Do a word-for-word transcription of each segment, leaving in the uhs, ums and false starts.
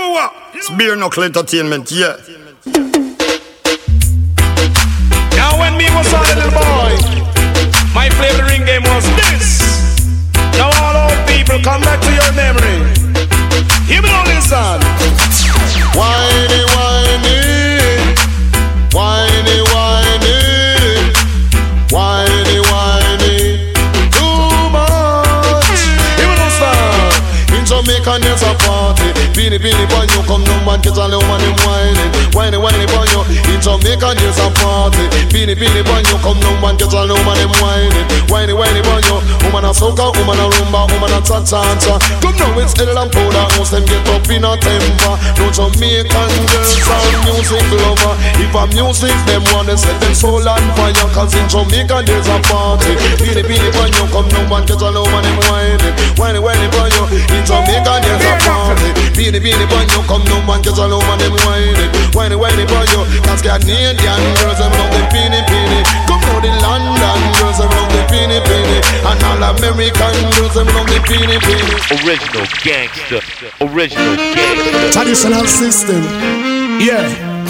know what? It's Beer Knuckle Entertainment, yeah. Now when me was a little boy, my favorite ring game was this. Now all old people, come back to your memory. Hear me now, listen. Whiny, whiny, whiny, whiny, whiny, whiny, too much. Hear me now, son. In Jamaica there's a party. Beanie, beanie, boy, you come no man, get a little man, him whining. Whiny, whiny, boy, you. In Jamaica there's a party. Beanie, beanie, boy, you come no man, get a little man, him whining. Whiny, whiny, boy, you. Woman a soca, woman a rumba, woman a cha-cha-cha. Come now, it's Edel and Powder House, them get up in a temper. No Jamaican girls are music lover. If a music, them wanna set them soul on fire. Cause in Jamaica there's a party. Beanie, beanie, boy, you come no man, get a little man, him whining. Whiny, whiny, boy, you. In Jamaica there's a party. Beanie, beanie, boy, you come no man, get a little man, him whining. Whiny, whiny, boy, you. Cause Canadian girls, them love the beanie, beanie. Come now, the London girls, them love the beanie, beanie. And all American girls, them love the beanie, beanie. Original gangster, original gangster. Traditional system, yeah.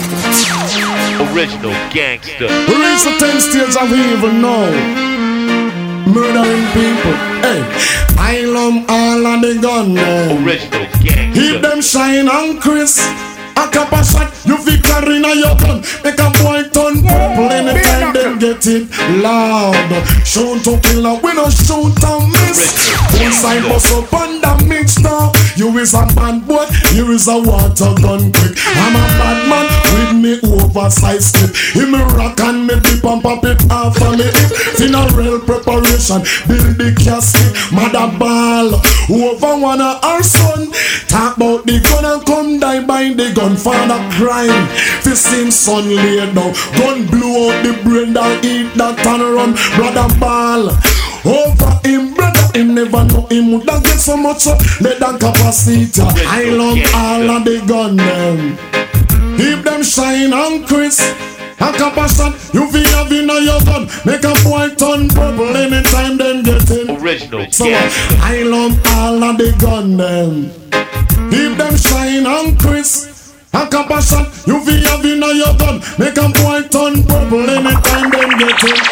Original gangster. We reach the ten stage of evil now. Murdering people, hey. I love all of the gunmen. Original gangster. Keep them shine and crisp. A cup of shot, you victory in your gun. Make a boy turn purple anytime them get it loud. Shoot to kill up, we no shoot and miss. One side bust up and the mix now. You is a bad boy, you is a water gun quick. I'm a bad man with me oversized clip. Him me rock and me dip and pop it off of me hip. Funeral preparation, build the casket. Mother ball, over one of our son. Talk about the gun and come die by the gun. Father crime, fist him son laid down. Gun blew out the brain that eat that and run. Brother ball over him, brother him never know him would get so much uh, leather capacity. I love all of the gun them. Keep them shine and crisp. A capacity, you feel have in your gun. Make a boy turn purple anytime them get in. Original so uh, I love all of the gun them. Keep them shine and crisp. A compassion, you feel have in your gun. Make a boy turn purple anytime them get it.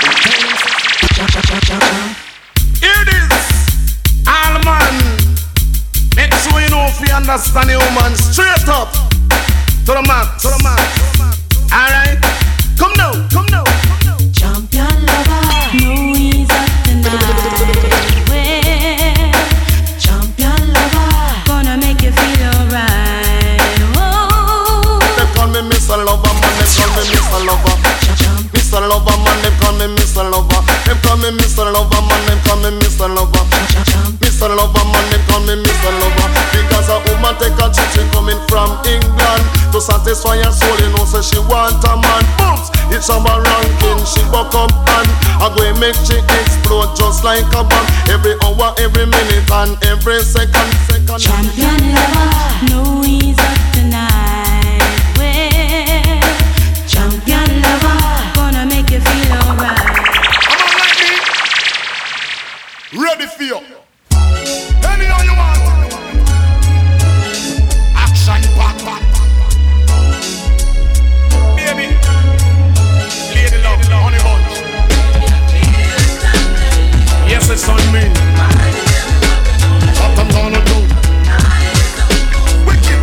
Here it is, all man. Make sure you know if you understand the woman. Straight up to the max, to the max. Alright, come now, come now. Champion lover, no ease up tonight. Well, champion lover, gonna make you feel alright. Me Mister Lover, man, they call me Mister Lover. Mister Lover, man, they call me Mister Lover. They call me Mister Lover, man, they call me Mister Lover. Mister Lover, man, they call me Mister Lover. Because a woman take a chick coming from England to satisfy her soul, you know, so she want a man. Booms, it's on my ranking, she buck up and I go and make she explode just like a bomb. Every hour, every minute, and every second, second. Champion lover, no ease up tonight. Champion lover, gonna make you feel alright. Come on, like me. Ready for you. Tell me how you want. Action, back, back. Baby, lady love, honey bunch. Yes, it's on me. What I'm gonna do. Wicked.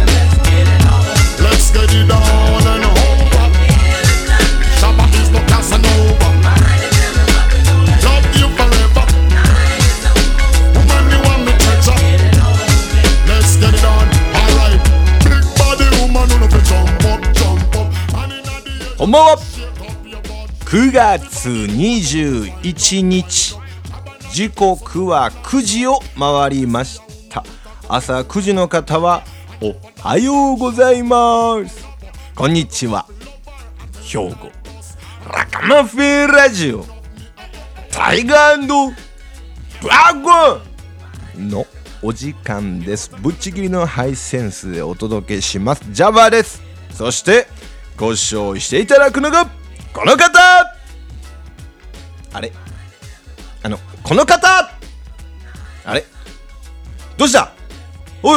Let's get it on and on. Shabbat is no Casanova. Love you forever. Woman, you want me treasure. Let's get it on. Alright. Big body woman, who love to jump up, jump up. こんばんは。くがつにじゅういちにち、時刻はくじを回りました。朝くじの方はおはようございます。こんにちは。兵庫ラカマフェラジオタイガー&ドラゴンのお時間です。ぶっちぎりのハイセンスでお届けします。ジャバです。そしてご視聴していただくのがこの方。あれあのこの方あれどうした。おいおい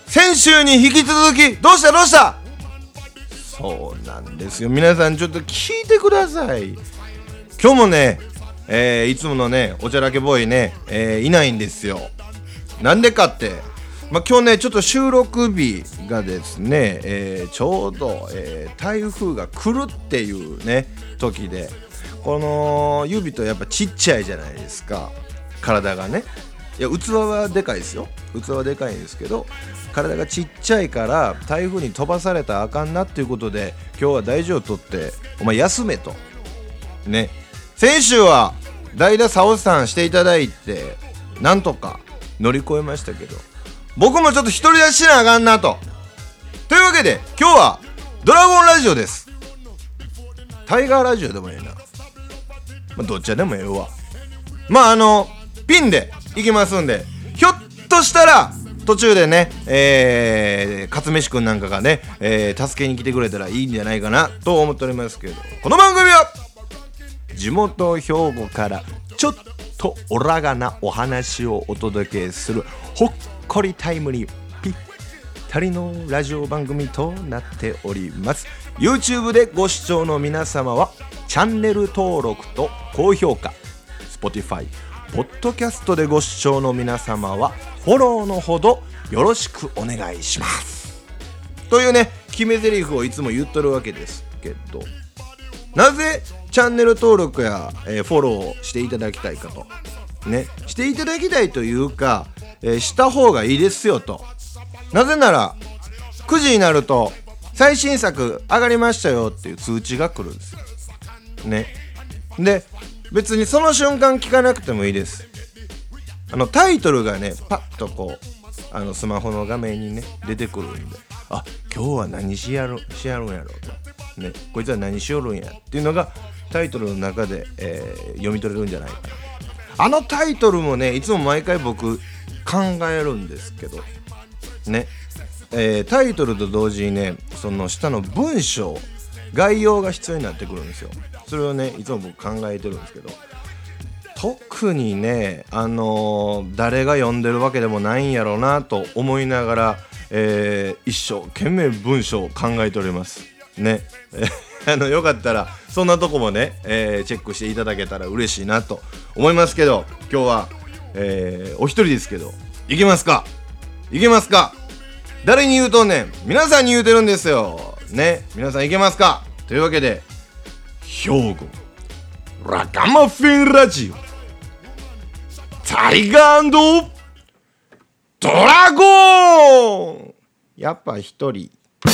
先週に引き続きどうしたどうした。そうなんですよ、皆さんちょっと聞いてください。今日もね、えー、いつものねおちゃらけボーイね、えー、いないんですよ。なんでかって、まあ、今日ねちょっと収録日がですね、えー、ちょうど、えー、台風が来るっていうね時で、このユービットやっぱちっちゃいじゃないですか、体がね。いや器はでかいですよ、器はでかいんですけど体がちっちゃいから台風に飛ばされたらあかんなっていうことで、今日は大事を取ってお前休めとね。先週は代打サオさんしていただいてなんとか乗り越えましたけど、僕もちょっと独り立ちしなあかんなと。というわけで今日はドラゴンラジオです。タイガーラジオでもええな、まあ、どっちでもええわ。まああのピンでいきますんで、ひょっとしたら途中でね、えー、勝飯くんなんかがね、えー、助けに来てくれたらいいんじゃないかなと思っておりますけど、この番組は地元兵庫からちょっとオラがなお話をお届けするほっこりタイムにぴったりのラジオ番組となっております。 YouTube でご視聴の皆様はチャンネル登録と高評価、 Spotify、ポッドキャストでご視聴の皆様はフォローのほどよろしくお願いしますというね決め台詞をいつも言っとるわけですけど、なぜチャンネル登録や、えー、フォローしていただきたいかとね、していただきたいというか、えー、した方がいいですよと。なぜならくじになると最新作上がりましたよっていう通知が来るんですよね。で別にその瞬間聞かなくてもいいです。あのタイトルがねパッとこうあのスマホの画面にね出てくるんで、あ今日は何しやるしやるんやろうとね、こいつは何しよるんやっていうのがタイトルの中で、えー、読み取れるんじゃないかな。あのタイトルもねいつも毎回僕考えるんですけどね、えー、タイトルと同時にねその下の文章概要が必要になってくるんですよ。それをねいつも僕考えてるんですけど、特にねあのー、誰が読んでるわけでもないんやろうなと思いながら、えー、一生懸命文章を考えておりますね。あのよかったらそんなとこもね、えー、チェックしていただけたら嬉しいなと思いますけど、今日は、えー、お一人ですけどいけますかいけますか。誰に言うとね皆さんに言うてるんですよね。皆さんいけますかというわけで、兵庫ラガマフィンラジオタイガー&ドラゴン。やっぱ一人。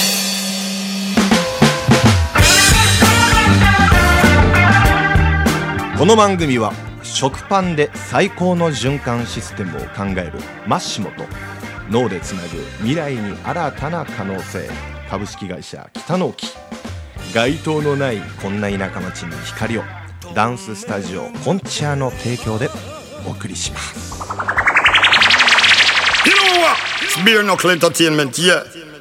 この番組は食パンで最高の循環システムを考えるマッシモと脳でつなぐ未来に新たな可能性株式会社北の木、街灯のないこんな田舎町に光をダンススタジオコンチャの提供でお送りします。 You know what? It's Beer Knuckle Entertainment, yeah.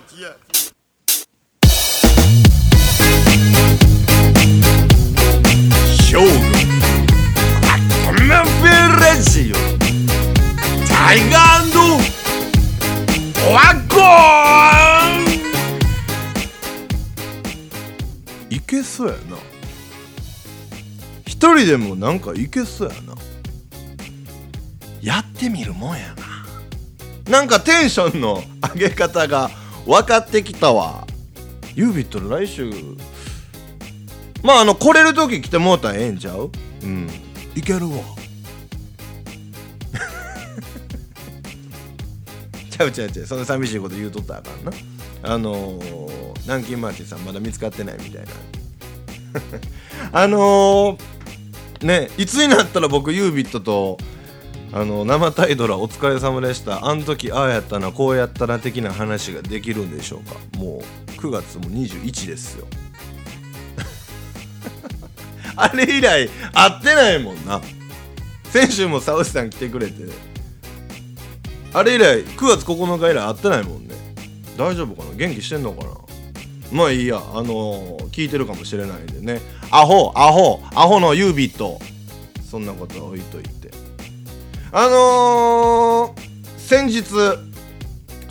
兵庫ラガマフィンラジオタイガー&ドラゴン。いけそうやな。一人でもなんかいけそうやな。やってみるもんやな。なんかテンションの上げ方が分かってきたわ。ユービット来週まああの来れる時来てもうたらええんちゃう。うんいけるわ。ちゃうちゃうちゃう、そんな寂しいこと言うとったらあかんな。あのー、南京マーチンさんまだ見つかってないみたいなあのー、ねいつになったら僕ユービットとあの生タイドラお疲れ様でした、あん時ああやったなこうやったな的な話ができるんでしょうか。もうくがつもにじゅういちですよあれ以来会ってないもんな。先週もサウスさん来てくれて、あれ以来くがつここのか以来会ってないもんね。大丈夫かな、元気してんのかな。まあいいや、あのー、聞いてるかもしれないんでね。アホアホアホのユービット、そんなことは置いといて、あのー、先日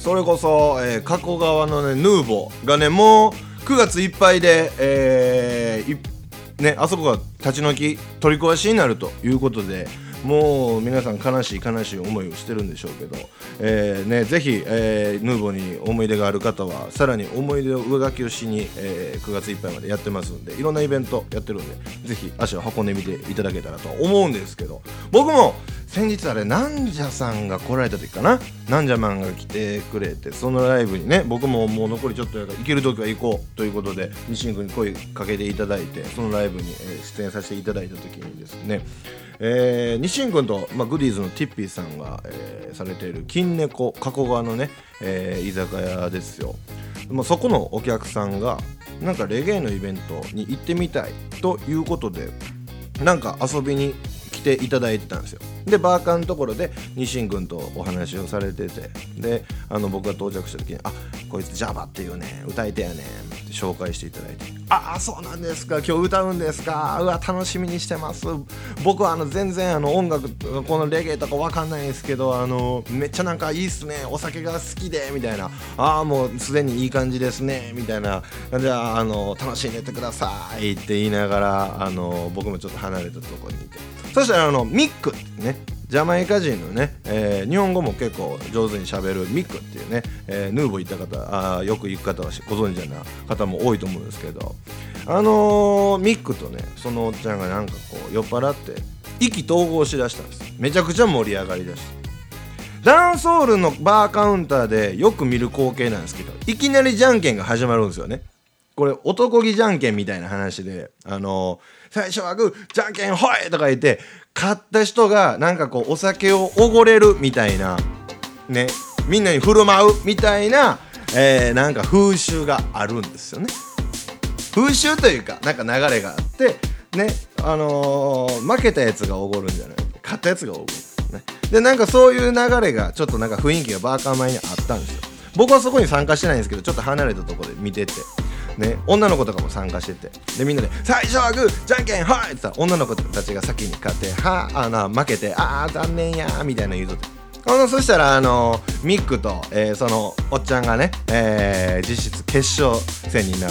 それこそ、えー、加古川のねヌーボーがねもうくがついっぱいで、えーいね、あそこが立ち退き取り壊しになるということで、もう皆さん悲しい悲しい思いをしてるんでしょうけど、えーね、ぜひ、えー、ヌーボーに思い出がある方はさらに思い出を上書きをしに、えー、くがついっぱいまでやってますんで、いろんなイベントやってるんでぜひ足を運んでみていただけたらと思うんですけど、僕も先日あれなんじゃさんが来られた時かな、なんじゃマンが来てくれて、そのライブにね僕ももう残りちょっとやから行ける時は行こうということで西君に声かけていただいて、そのライブに、えー、出演させていただいた時にですね、えー、西君と、まあ、グディーズのティッピーさんが、えー、されている金猫加古川のね、えー、居酒屋ですよ。まあ、そこのお客さんがなんかレゲエのイベントに行ってみたいということでなんか遊びに来ていただいてたんですよ。でバーカーのところで西君とお話をされてて、であの僕が到着した時にあこいつジャバっていうね歌い手やねんって紹介していただいて、ああそうなんですか今日歌うんですか、うわ楽しみにしてます。僕はあの全然あの音楽このレゲエとかわかんないですけどあのめっちゃなんかいいっすね、お酒が好きでみたいな、ああもうすでにいい感じですねみたいな、じゃああの楽しんでてくださいって言いながらあの僕もちょっと離れたところにいて、そしたらあのミックってねジャマイカ人のね、えー、日本語も結構上手に喋るミックっていうね、えー、ヌーボー行った方あよく行く方はご存知な方も多いと思うんですけど、あのー、ミックとねそのおっちゃんがなんかこう酔っ払って意気投合しだしたんです。めちゃくちゃ盛り上がりだし、ダンソールのバーカウンターでよく見る光景なんですけど、いきなりじゃんけんが始まるんですよね。これ男気じゃんけんみたいな話で、あのー、最初はグーじゃんけんほいとか言って勝った人がなんかこうお酒をおごれるみたいなね、みんなに振る舞うみたいな、えー、なんか風習があるんですよね。風習というかなんか流れがあってね、あのー、負けたやつがおごるんじゃない、勝ったやつがおごるんですね。でなんかそういう流れがちょっとなんか雰囲気がバーカー前にあったんですよ。僕はそこに参加してないんですけどちょっと離れたところで見ててね、女の子とかも参加してて、でみんなで最初はグーじゃんけんはいって言ったら女の子たちが先に勝ってはあな負けてああ残念やーみたいな言うとって、あのそしたらあのミックと、えー、そのおっちゃんがね、えー、実質決勝戦になって、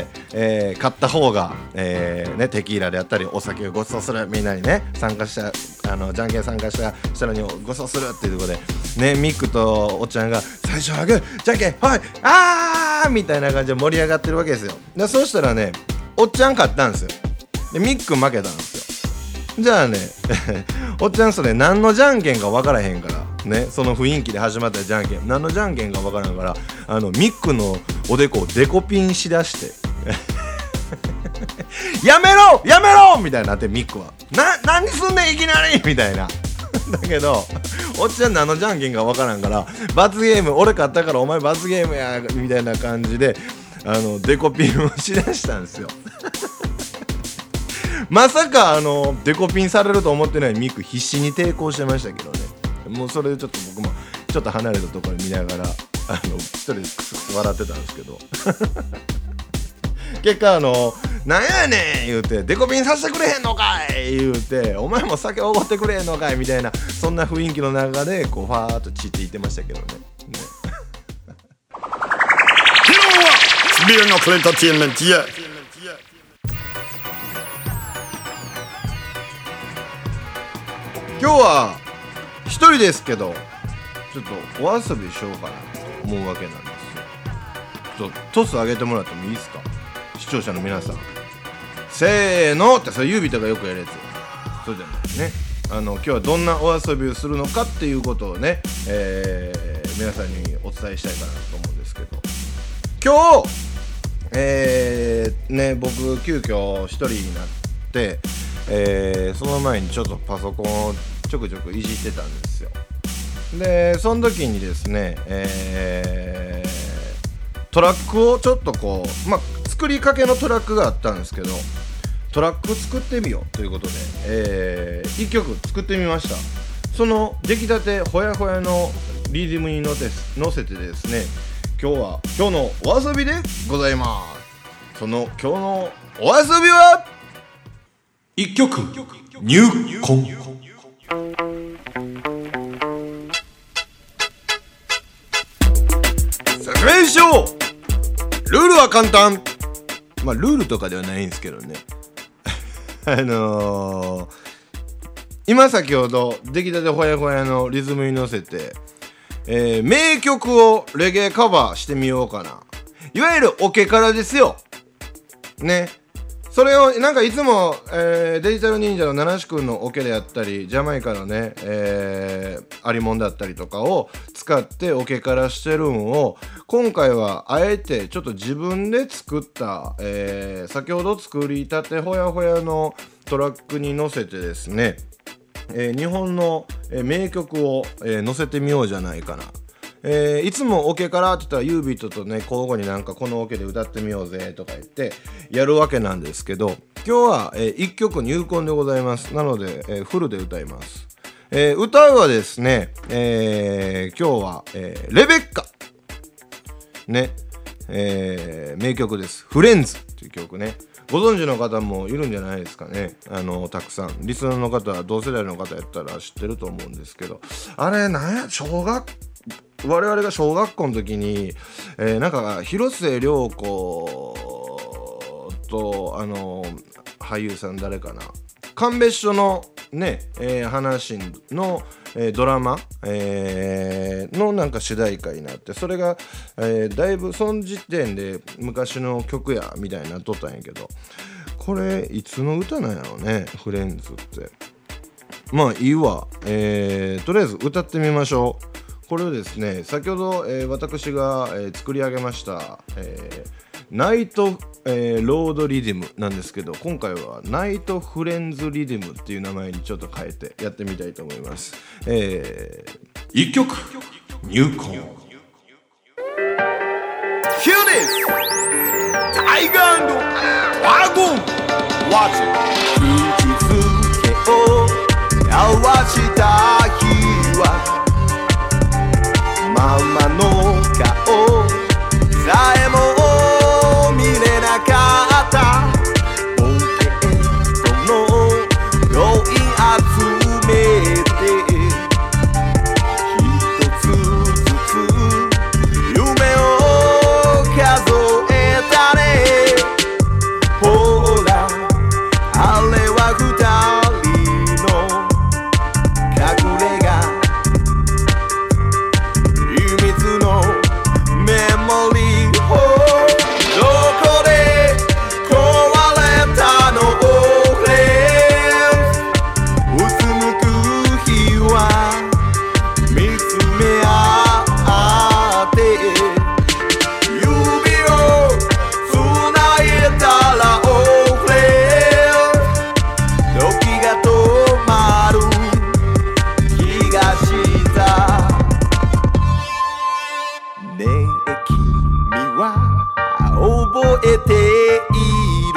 えー、勝った方が、えーね、テキーラであったりお酒をご馳走する、みんなにね参加したあのじゃんけん参加した人にご馳走するっていうところでね、ミックとおっちゃんが最初はグーじゃんけんはいあーみたいな感じで盛り上がってるわけですよ。でそうしたらねおっちゃん勝ったんですよ。でミック負けたんですよ。じゃあねおっちゃんそれ何のじゃんけんか分からへんからね、その雰囲気で始まったじゃんけん何のじゃんけんか分からんからあのミックのおでこをデコピンしだしてやめろやめろみたいになって、ミックはな何すんねんいきなりみたいなだけどおっちゃん何のじゃんけんか分からんから罰ゲーム俺勝ったからお前罰ゲームやみたいな感じであのデコピンをしだしたんですよまさかあのデコピンされると思ってないミック必死に抵抗してましたけどね。もうそれでちょっと僕もちょっと離れたところに見ながらあの一人でクスクス笑ってたんですけど結果あのなんやねん言うてデコピンさせてくれへんのかい言うてお前も酒おごってくれへんのかいみたいな、そんな雰囲気の中でこうファーっと散っていってましたけどね。ね Beer Knuckle Entertainment, yeah. 今日は一人ですけどちょっとお遊びしようかなと思うわけなんですよ。ちょっとトス上げてもらってもいいですか、視聴者の皆さん。せーのってそれ指とかよくやるやつ、そうじゃないね。あの今日はどんなお遊びをするのかっていうことをね、えー、皆さんにお伝えしたいかなと思うんですけど、今日えー、ね僕急遽一人になって、えー、その前にちょっとパソコンをちょくちょくいじってたんですよ。でその時にですね、えー、トラックをちょっとこうまあ作りかけのトラックがあったんですけど、トラック作ってみようということで、えー、いっきょく作ってみました。その出来たてほやほやのリズムに乗せ乗せてですね、今日は今日のお遊びでございます。その今日のお遊びはいっきょく入魂。 ルールは簡単。まあルールとかではないんですけどねあのー、今先ほど出来たてほやほやのリズムに乗せて、えー、名曲をレゲエカバーしてみようかな。いわゆるオケからですよね。それをなんかいつも、えー、デジタル忍者の七志くんのオケであったり、ジャマイカのね、えー、アリモンだったりとかを使ってオケからしてるんを、今回はあえてちょっと自分で作った、えー、先ほど作りたてほやほやのトラックに乗せてですね、えー、日本の、えー、名曲を、えー、載せてみようじゃないかな。えー、いつもオケからって言ったらユービットとね交互になんかこのオケで歌ってみようぜとか言ってやるわけなんですけど、今日は、えー、いっきょく入魂でございます。なので、えー、フルで歌います。えー、歌うはですね、えー、今日は、えー、レベッカね、えー、名曲です。フレンズっていう曲ね、ご存知の方もいるんじゃないですかね。あのたくさんリスナーの方は同世代の方やったら知ってると思うんですけど、あれなんや小学我々が小学校の時に、えー、なんか広末涼子とあの俳優さん誰かな、鑑別所のね、えー、話の、えー、ドラマ、えー、のなんか主題歌になって、それが、えー、だいぶその時点で昔の曲やみたいになっとったんやけど、これいつの歌なんやろね、フレンズって。まあいいわ、えー、とりあえず歌ってみましょう。これをですね、先ほど、えー、私が、えー、作り上げました、えー、ナイト、えー、ロードリディムなんですけど、今回はナイトフレンズリディムっていう名前にちょっと変えてやってみたいと思います。えー、いっきょく入魂。 Hear this! タイガー&ワゴン Watch it! 口づけを合わした日はママの顔さえも見れなかった。ポケットのロイ集めて一つずつ夢を数えたね。ほらあれは二人の隠れ家、秘密のメモリーをどこで壊れたの俺うつむく日は見つめ合って指をつないだら俺時が止まる気がしたね。え君は覚えている？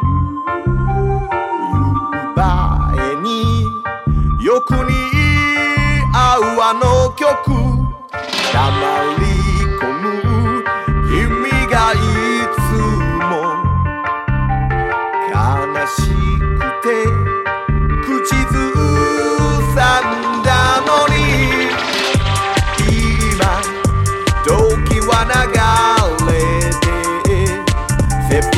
夕映えによく似合うあの曲、黙り込む君がいつも悲しくて口ずさんだのに、今時は流れて切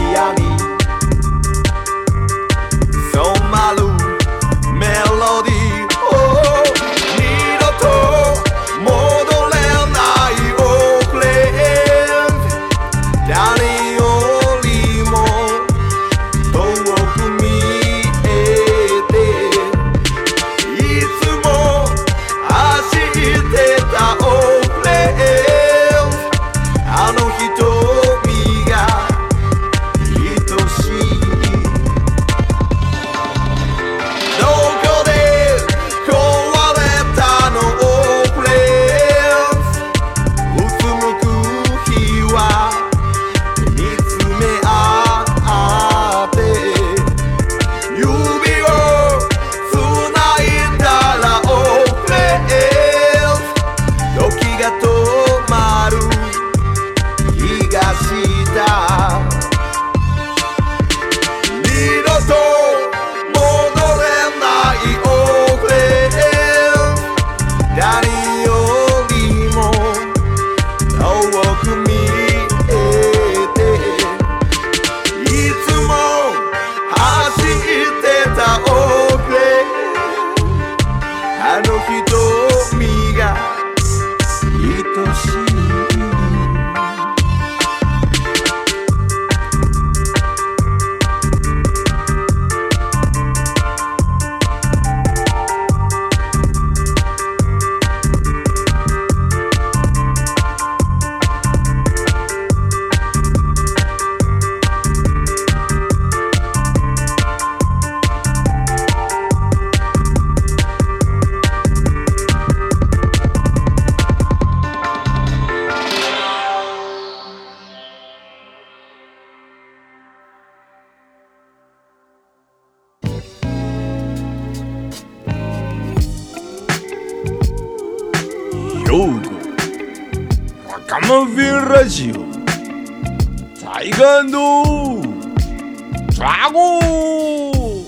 マフィンラジオタイガー&ドラゴン。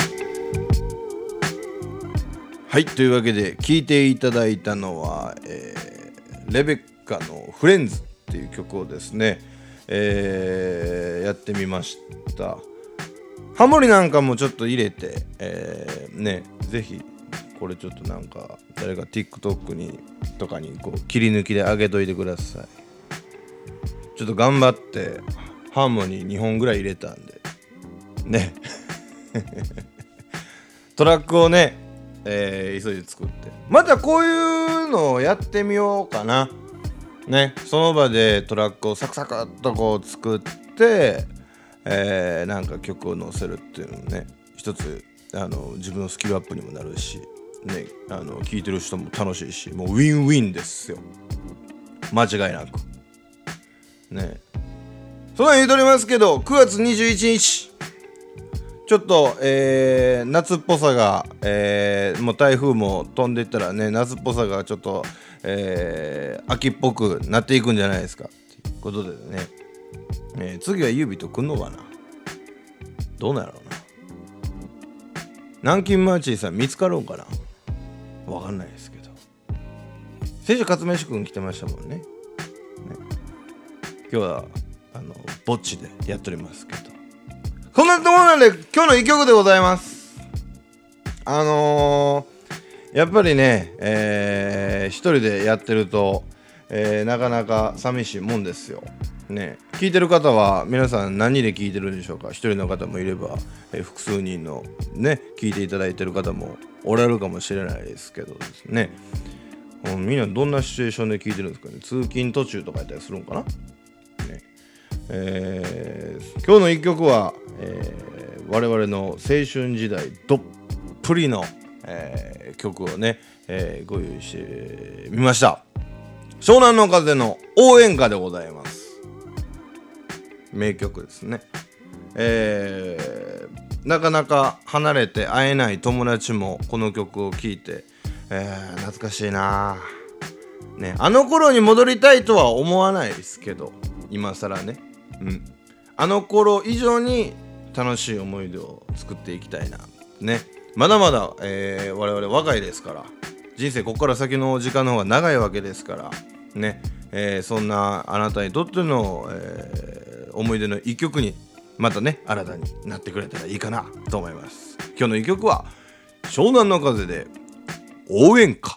はい、というわけで聴いていただいたのは、えー、レベッカのフレンズっていう曲をですね、えー、やってみました。ハモリなんかもちょっと入れて、えー、ね、ぜひこれちょっとなんか誰か TikTok にとかにこう切り抜きで上げといてください。ちょっと頑張ってハーモニーにほんぐらい入れたんでねトラックをね、えー、急いで作ってまたこういうのをやってみようかなね。その場でトラックをサクサクっとこう作って、えー、なんか曲を載せるっていうのもね、一つあの自分のスキルアップにもなるしね、あの聴いてる人も楽しいし、もうウィンウィンですよ、間違いなくね。そんなん言うとりますけど、くがつにじゅういちにちちょっと、えー、夏っぽさが、えー、もう台風も飛んでいったらね、夏っぽさがちょっと、えー、秋っぽくなっていくんじゃないですかっていうことでね、えー、次はユービーと来んのかな、どうなんやろうな。南京マーチーさん見つかるんかな、わかんないですけど、先週勝飯くん来てましたもんね。ね、今日はあのぼっちでやっておりますけど、そんなところなんで今日の一曲でございます。あのー、やっぱりね、えー、一人でやってると、えー、なかなか寂しいもんですよね。聞いてる方は皆さん何で聞いてるんでしょうか。一人の方もいれば、えー、複数人のね聞いていただいてる方もおられるかもしれないですけどですね、うん、みんなどんなシチュエーションで聞いてるんですかね。通勤途中とかやったりするんかな、ね。えー、今日の一曲は、えー、我々の青春時代どっぷりの、えー、曲をね、えー、ご用意してみました。湘南の風の応援歌でございます。名曲ですね。えー、なかなか離れて会えない友達もこの曲を聴いて、えー、懐かしいなね。あの頃に戻りたいとは思わないですけど、今更ね、うん、あの頃以上に楽しい思い出を作っていきたいなね。まだまだ、えー、我々若いですから、人生ここから先の時間の方が長いわけですからね、えー、そんなあなたにとっての、えー思い出の一曲にまたね新たになってくれたらいいかなと思います。今日の一曲は湘南の風で応援歌。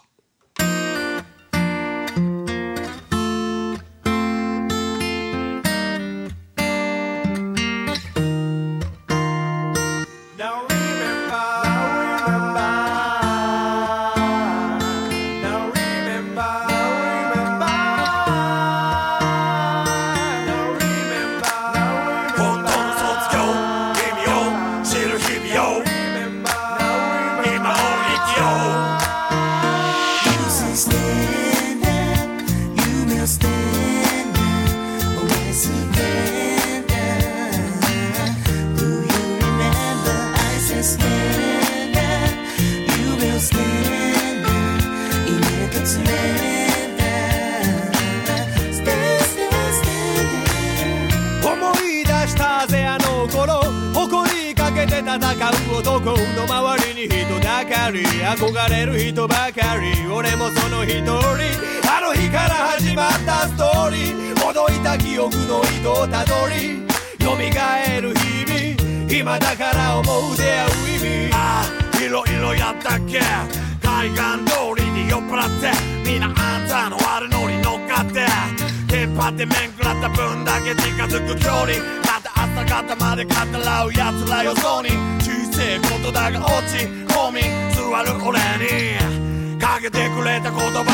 戦う男の周りに人だかり、憧れる人ばかり、俺もその一人。あの日から始まったストーリー、ほどいた記憶の糸をたどり蘇る日々、今だから思う出会う意味。ああいろいろやったっけ、海岸通りに酔っ払ってみんなあんたの悪ノリ乗っかってテンパって面食らった分だけ近づく距離、また朝方まで語らう奴らよそに小せえことだが落ち込み座る俺にかけてくれた言葉、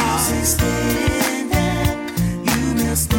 夢を捨て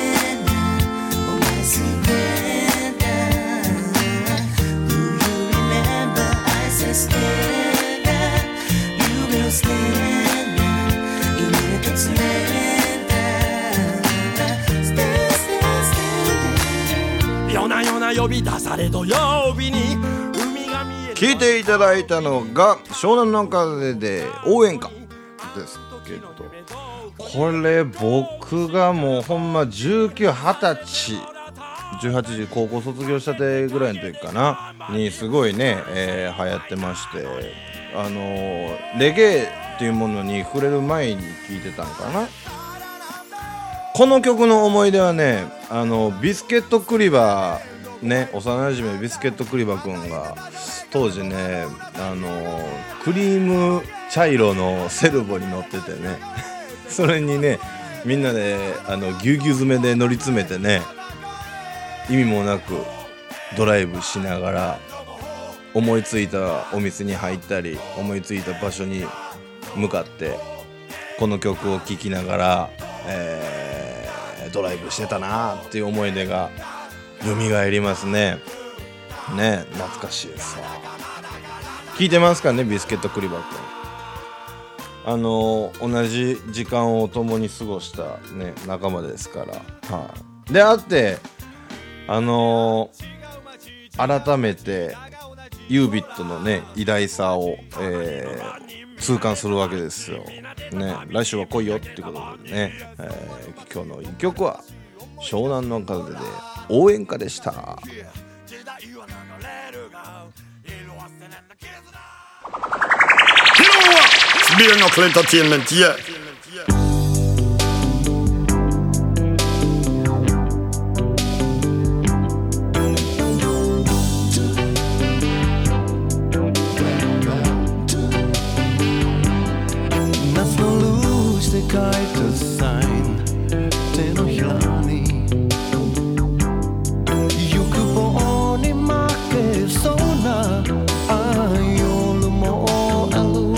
夜な夜な呼び出され土曜日に海が見える。 聞いていただいたのが湘南の風で応援歌ですけど、 これ僕がもうほんまじゅうきゅう、はたちじゅうはちで高校卒業したてぐらいの時かなにすごいね、えー、流行ってまして、あのー、レゲエっていうものに触れる前に聴いてたんかな。この曲の思い出はね、あのビスケットクリバーね、幼馴染ビスケットクリバーくんが当時ね、あのクリーム茶色のセルボに乗っててねそれにねみんなであのぎゅうぎゅう詰めで乗り詰めてね、意味もなくドライブしながら思いついたお店に入ったり、思いついた場所に向かってこの曲を聴きながら、えー、ドライブしてたなっていう思い出が蘇りますね。ね、懐かしいですわ。聞いてますかね、ビスケットクリバー君。あの同じ時間を共に過ごしたね仲間ですから、はい、であってあのー、改めてユービットのね偉大さを、えー、痛感するわけですよね。来週は来いよってことでね、えー、今日の一曲は湘南の風で応援歌でした。 Beer Knuckle Entertainment, yeah. Nas na luz de kite sign te no hilani Yukubo ni make sona ayolu mo alu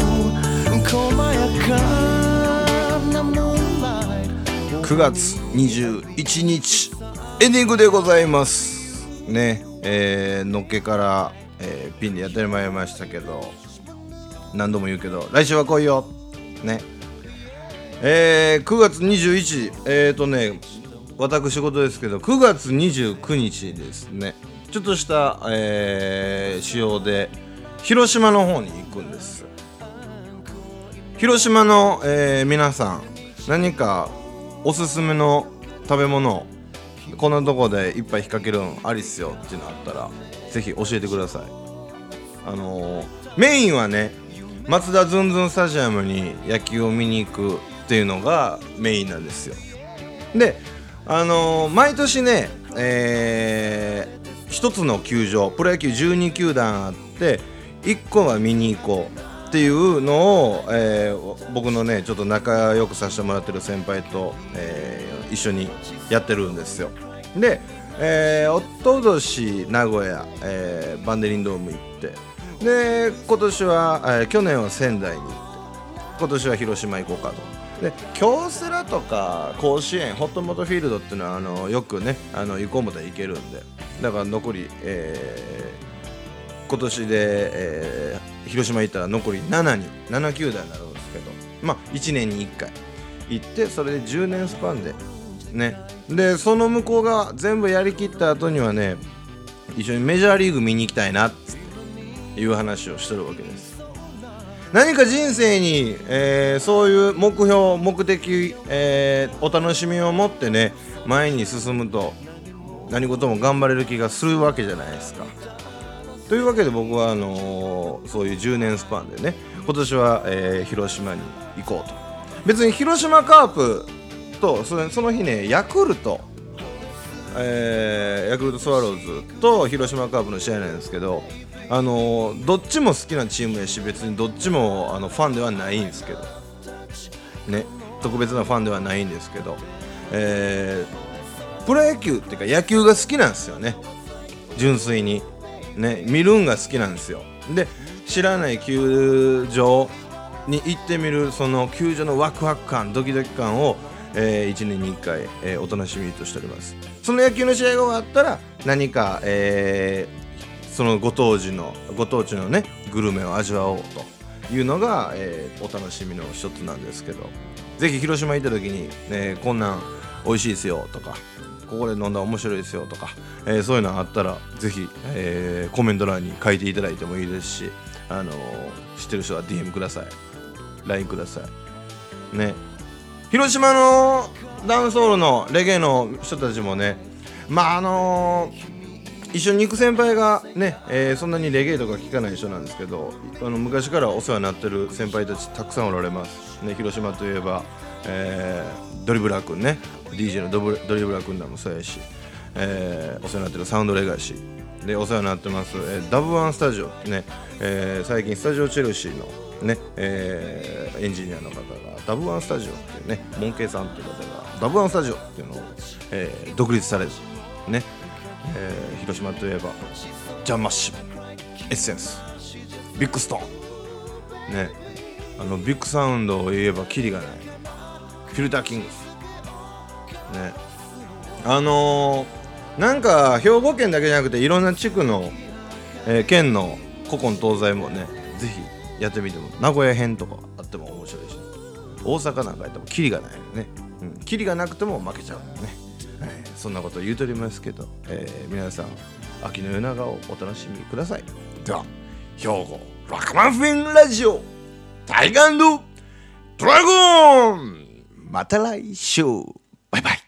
くがつにじゅういちにちエンディングでございますね。えー、のっけから、えー、ピンでやってまいりましたけど、何度も言うけど来週は来いよね。えー、くがつにじゅういちにちえーとね私事ですけどくがつにじゅうくにちですね、ちょっとした、えー、仕様で広島の方に行くんです。広島の、えー、皆さん何かおすすめの食べ物こんなとこでいっぱい引っ掛けるんありっすよっていうのあったらぜひ教えてください。あのー、メインはねマツダズンズンスタジアムに野球を見に行くっていうのがメインなんですよ。であのー、毎年ね、えー、一つの球場プロ野球じゅうにきゅうだんあっていっこは見に行こうっていうのを、えー、僕のねちょっと仲良くさせてもらってる先輩と、えー、一緒にやってるんですよ。で、えー、おととし名古屋、えー、バンデリンドーム行ってで今年は、えー、去年は仙台に行って今年は広島行こうかと。で京セラとか甲子園ホットモトフィールドっていうのはあのよくねあの行こうもたら行けるんで、だから残り、えー、今年で、えー、広島行ったら残りななになな球団になるんですけど、まあいちねんにいっかい行ってそれでじゅうねんスパンでね、でその向こうが全部やりきった後にはね一緒にメジャーリーグ見に行きたいなっていう話をしてるわけです。何か人生に、えー、そういう目標目的、えー、お楽しみを持ってね前に進むと何事も頑張れる気がするわけじゃないですか。というわけで僕はあのー、そういうじゅうねんスパンでね今年は、えー、広島に行こうと。別に広島カープとその、その日ねヤクルト、えー、ヤクルトスワローズと広島カープの試合なんですけど、あのー、どっちも好きなチームやし別にどっちもあのファンではないんですけどね、特別なファンではないんですけど、えー、プロ野球っていうか野球が好きなんですよね、純粋にね、見るんが好きなんですよ。で知らない球場に行ってみるその球場のワクワク感ドキドキ感を、えー、いちねんにいっかい、えー、お楽しみとしております。その野球の試合が終わったら何か、えーそのご当地のご当地のねグルメを味わおうというのが、えー、お楽しみの一つなんですけど、ぜひ広島行った時に、ね、こんなん美味しいですよとかここで飲んだら面白いですよとか、えー、そういうのあったらぜひ、えー、コメント欄に書いていただいてもいいですし、あのー、知ってる人は ディーエム ください、 ライン くださいね。 広島のダンスホールのレゲエの人たちもね、まああのー一緒に行く先輩がね、えー、そんなにレゲエとか聴かない人なんですけど、あの昔からお世話になってる先輩たちたくさんおられますね。広島といえば、えー、ドリブラー君ね、 ディージェー のドブドリブラー君らもそうやし、えー、お世話になってるサウンドレガシーでお世話になってます、えー、ダブワンスタジオってね、えー、最近スタジオチェルシーのね、えー、エンジニアの方がダブワンスタジオっていうね、モンケイさんっていう方がダブワンスタジオっていうのを、えー、独立されてね、えー、広島といえばジャンマッシュ、エッセンス、ビッグストーンね、あのビッグサウンドを言えばキリがないフィルターキングスね、あのー、なんか兵庫県だけじゃなくていろんな地区の、えー、県の古今東西もねぜひやってみても、名古屋編とかあっても面白いし、大阪なんかやってもキリがないよね、うん、キリがなくても負けちゃうよね。そんなこと言うとりますけど、えー、皆さん秋の夜長をお楽しみください。では兵庫ラカマンフェンラジオタイガー&ドラゴン、また来週、バイバイ。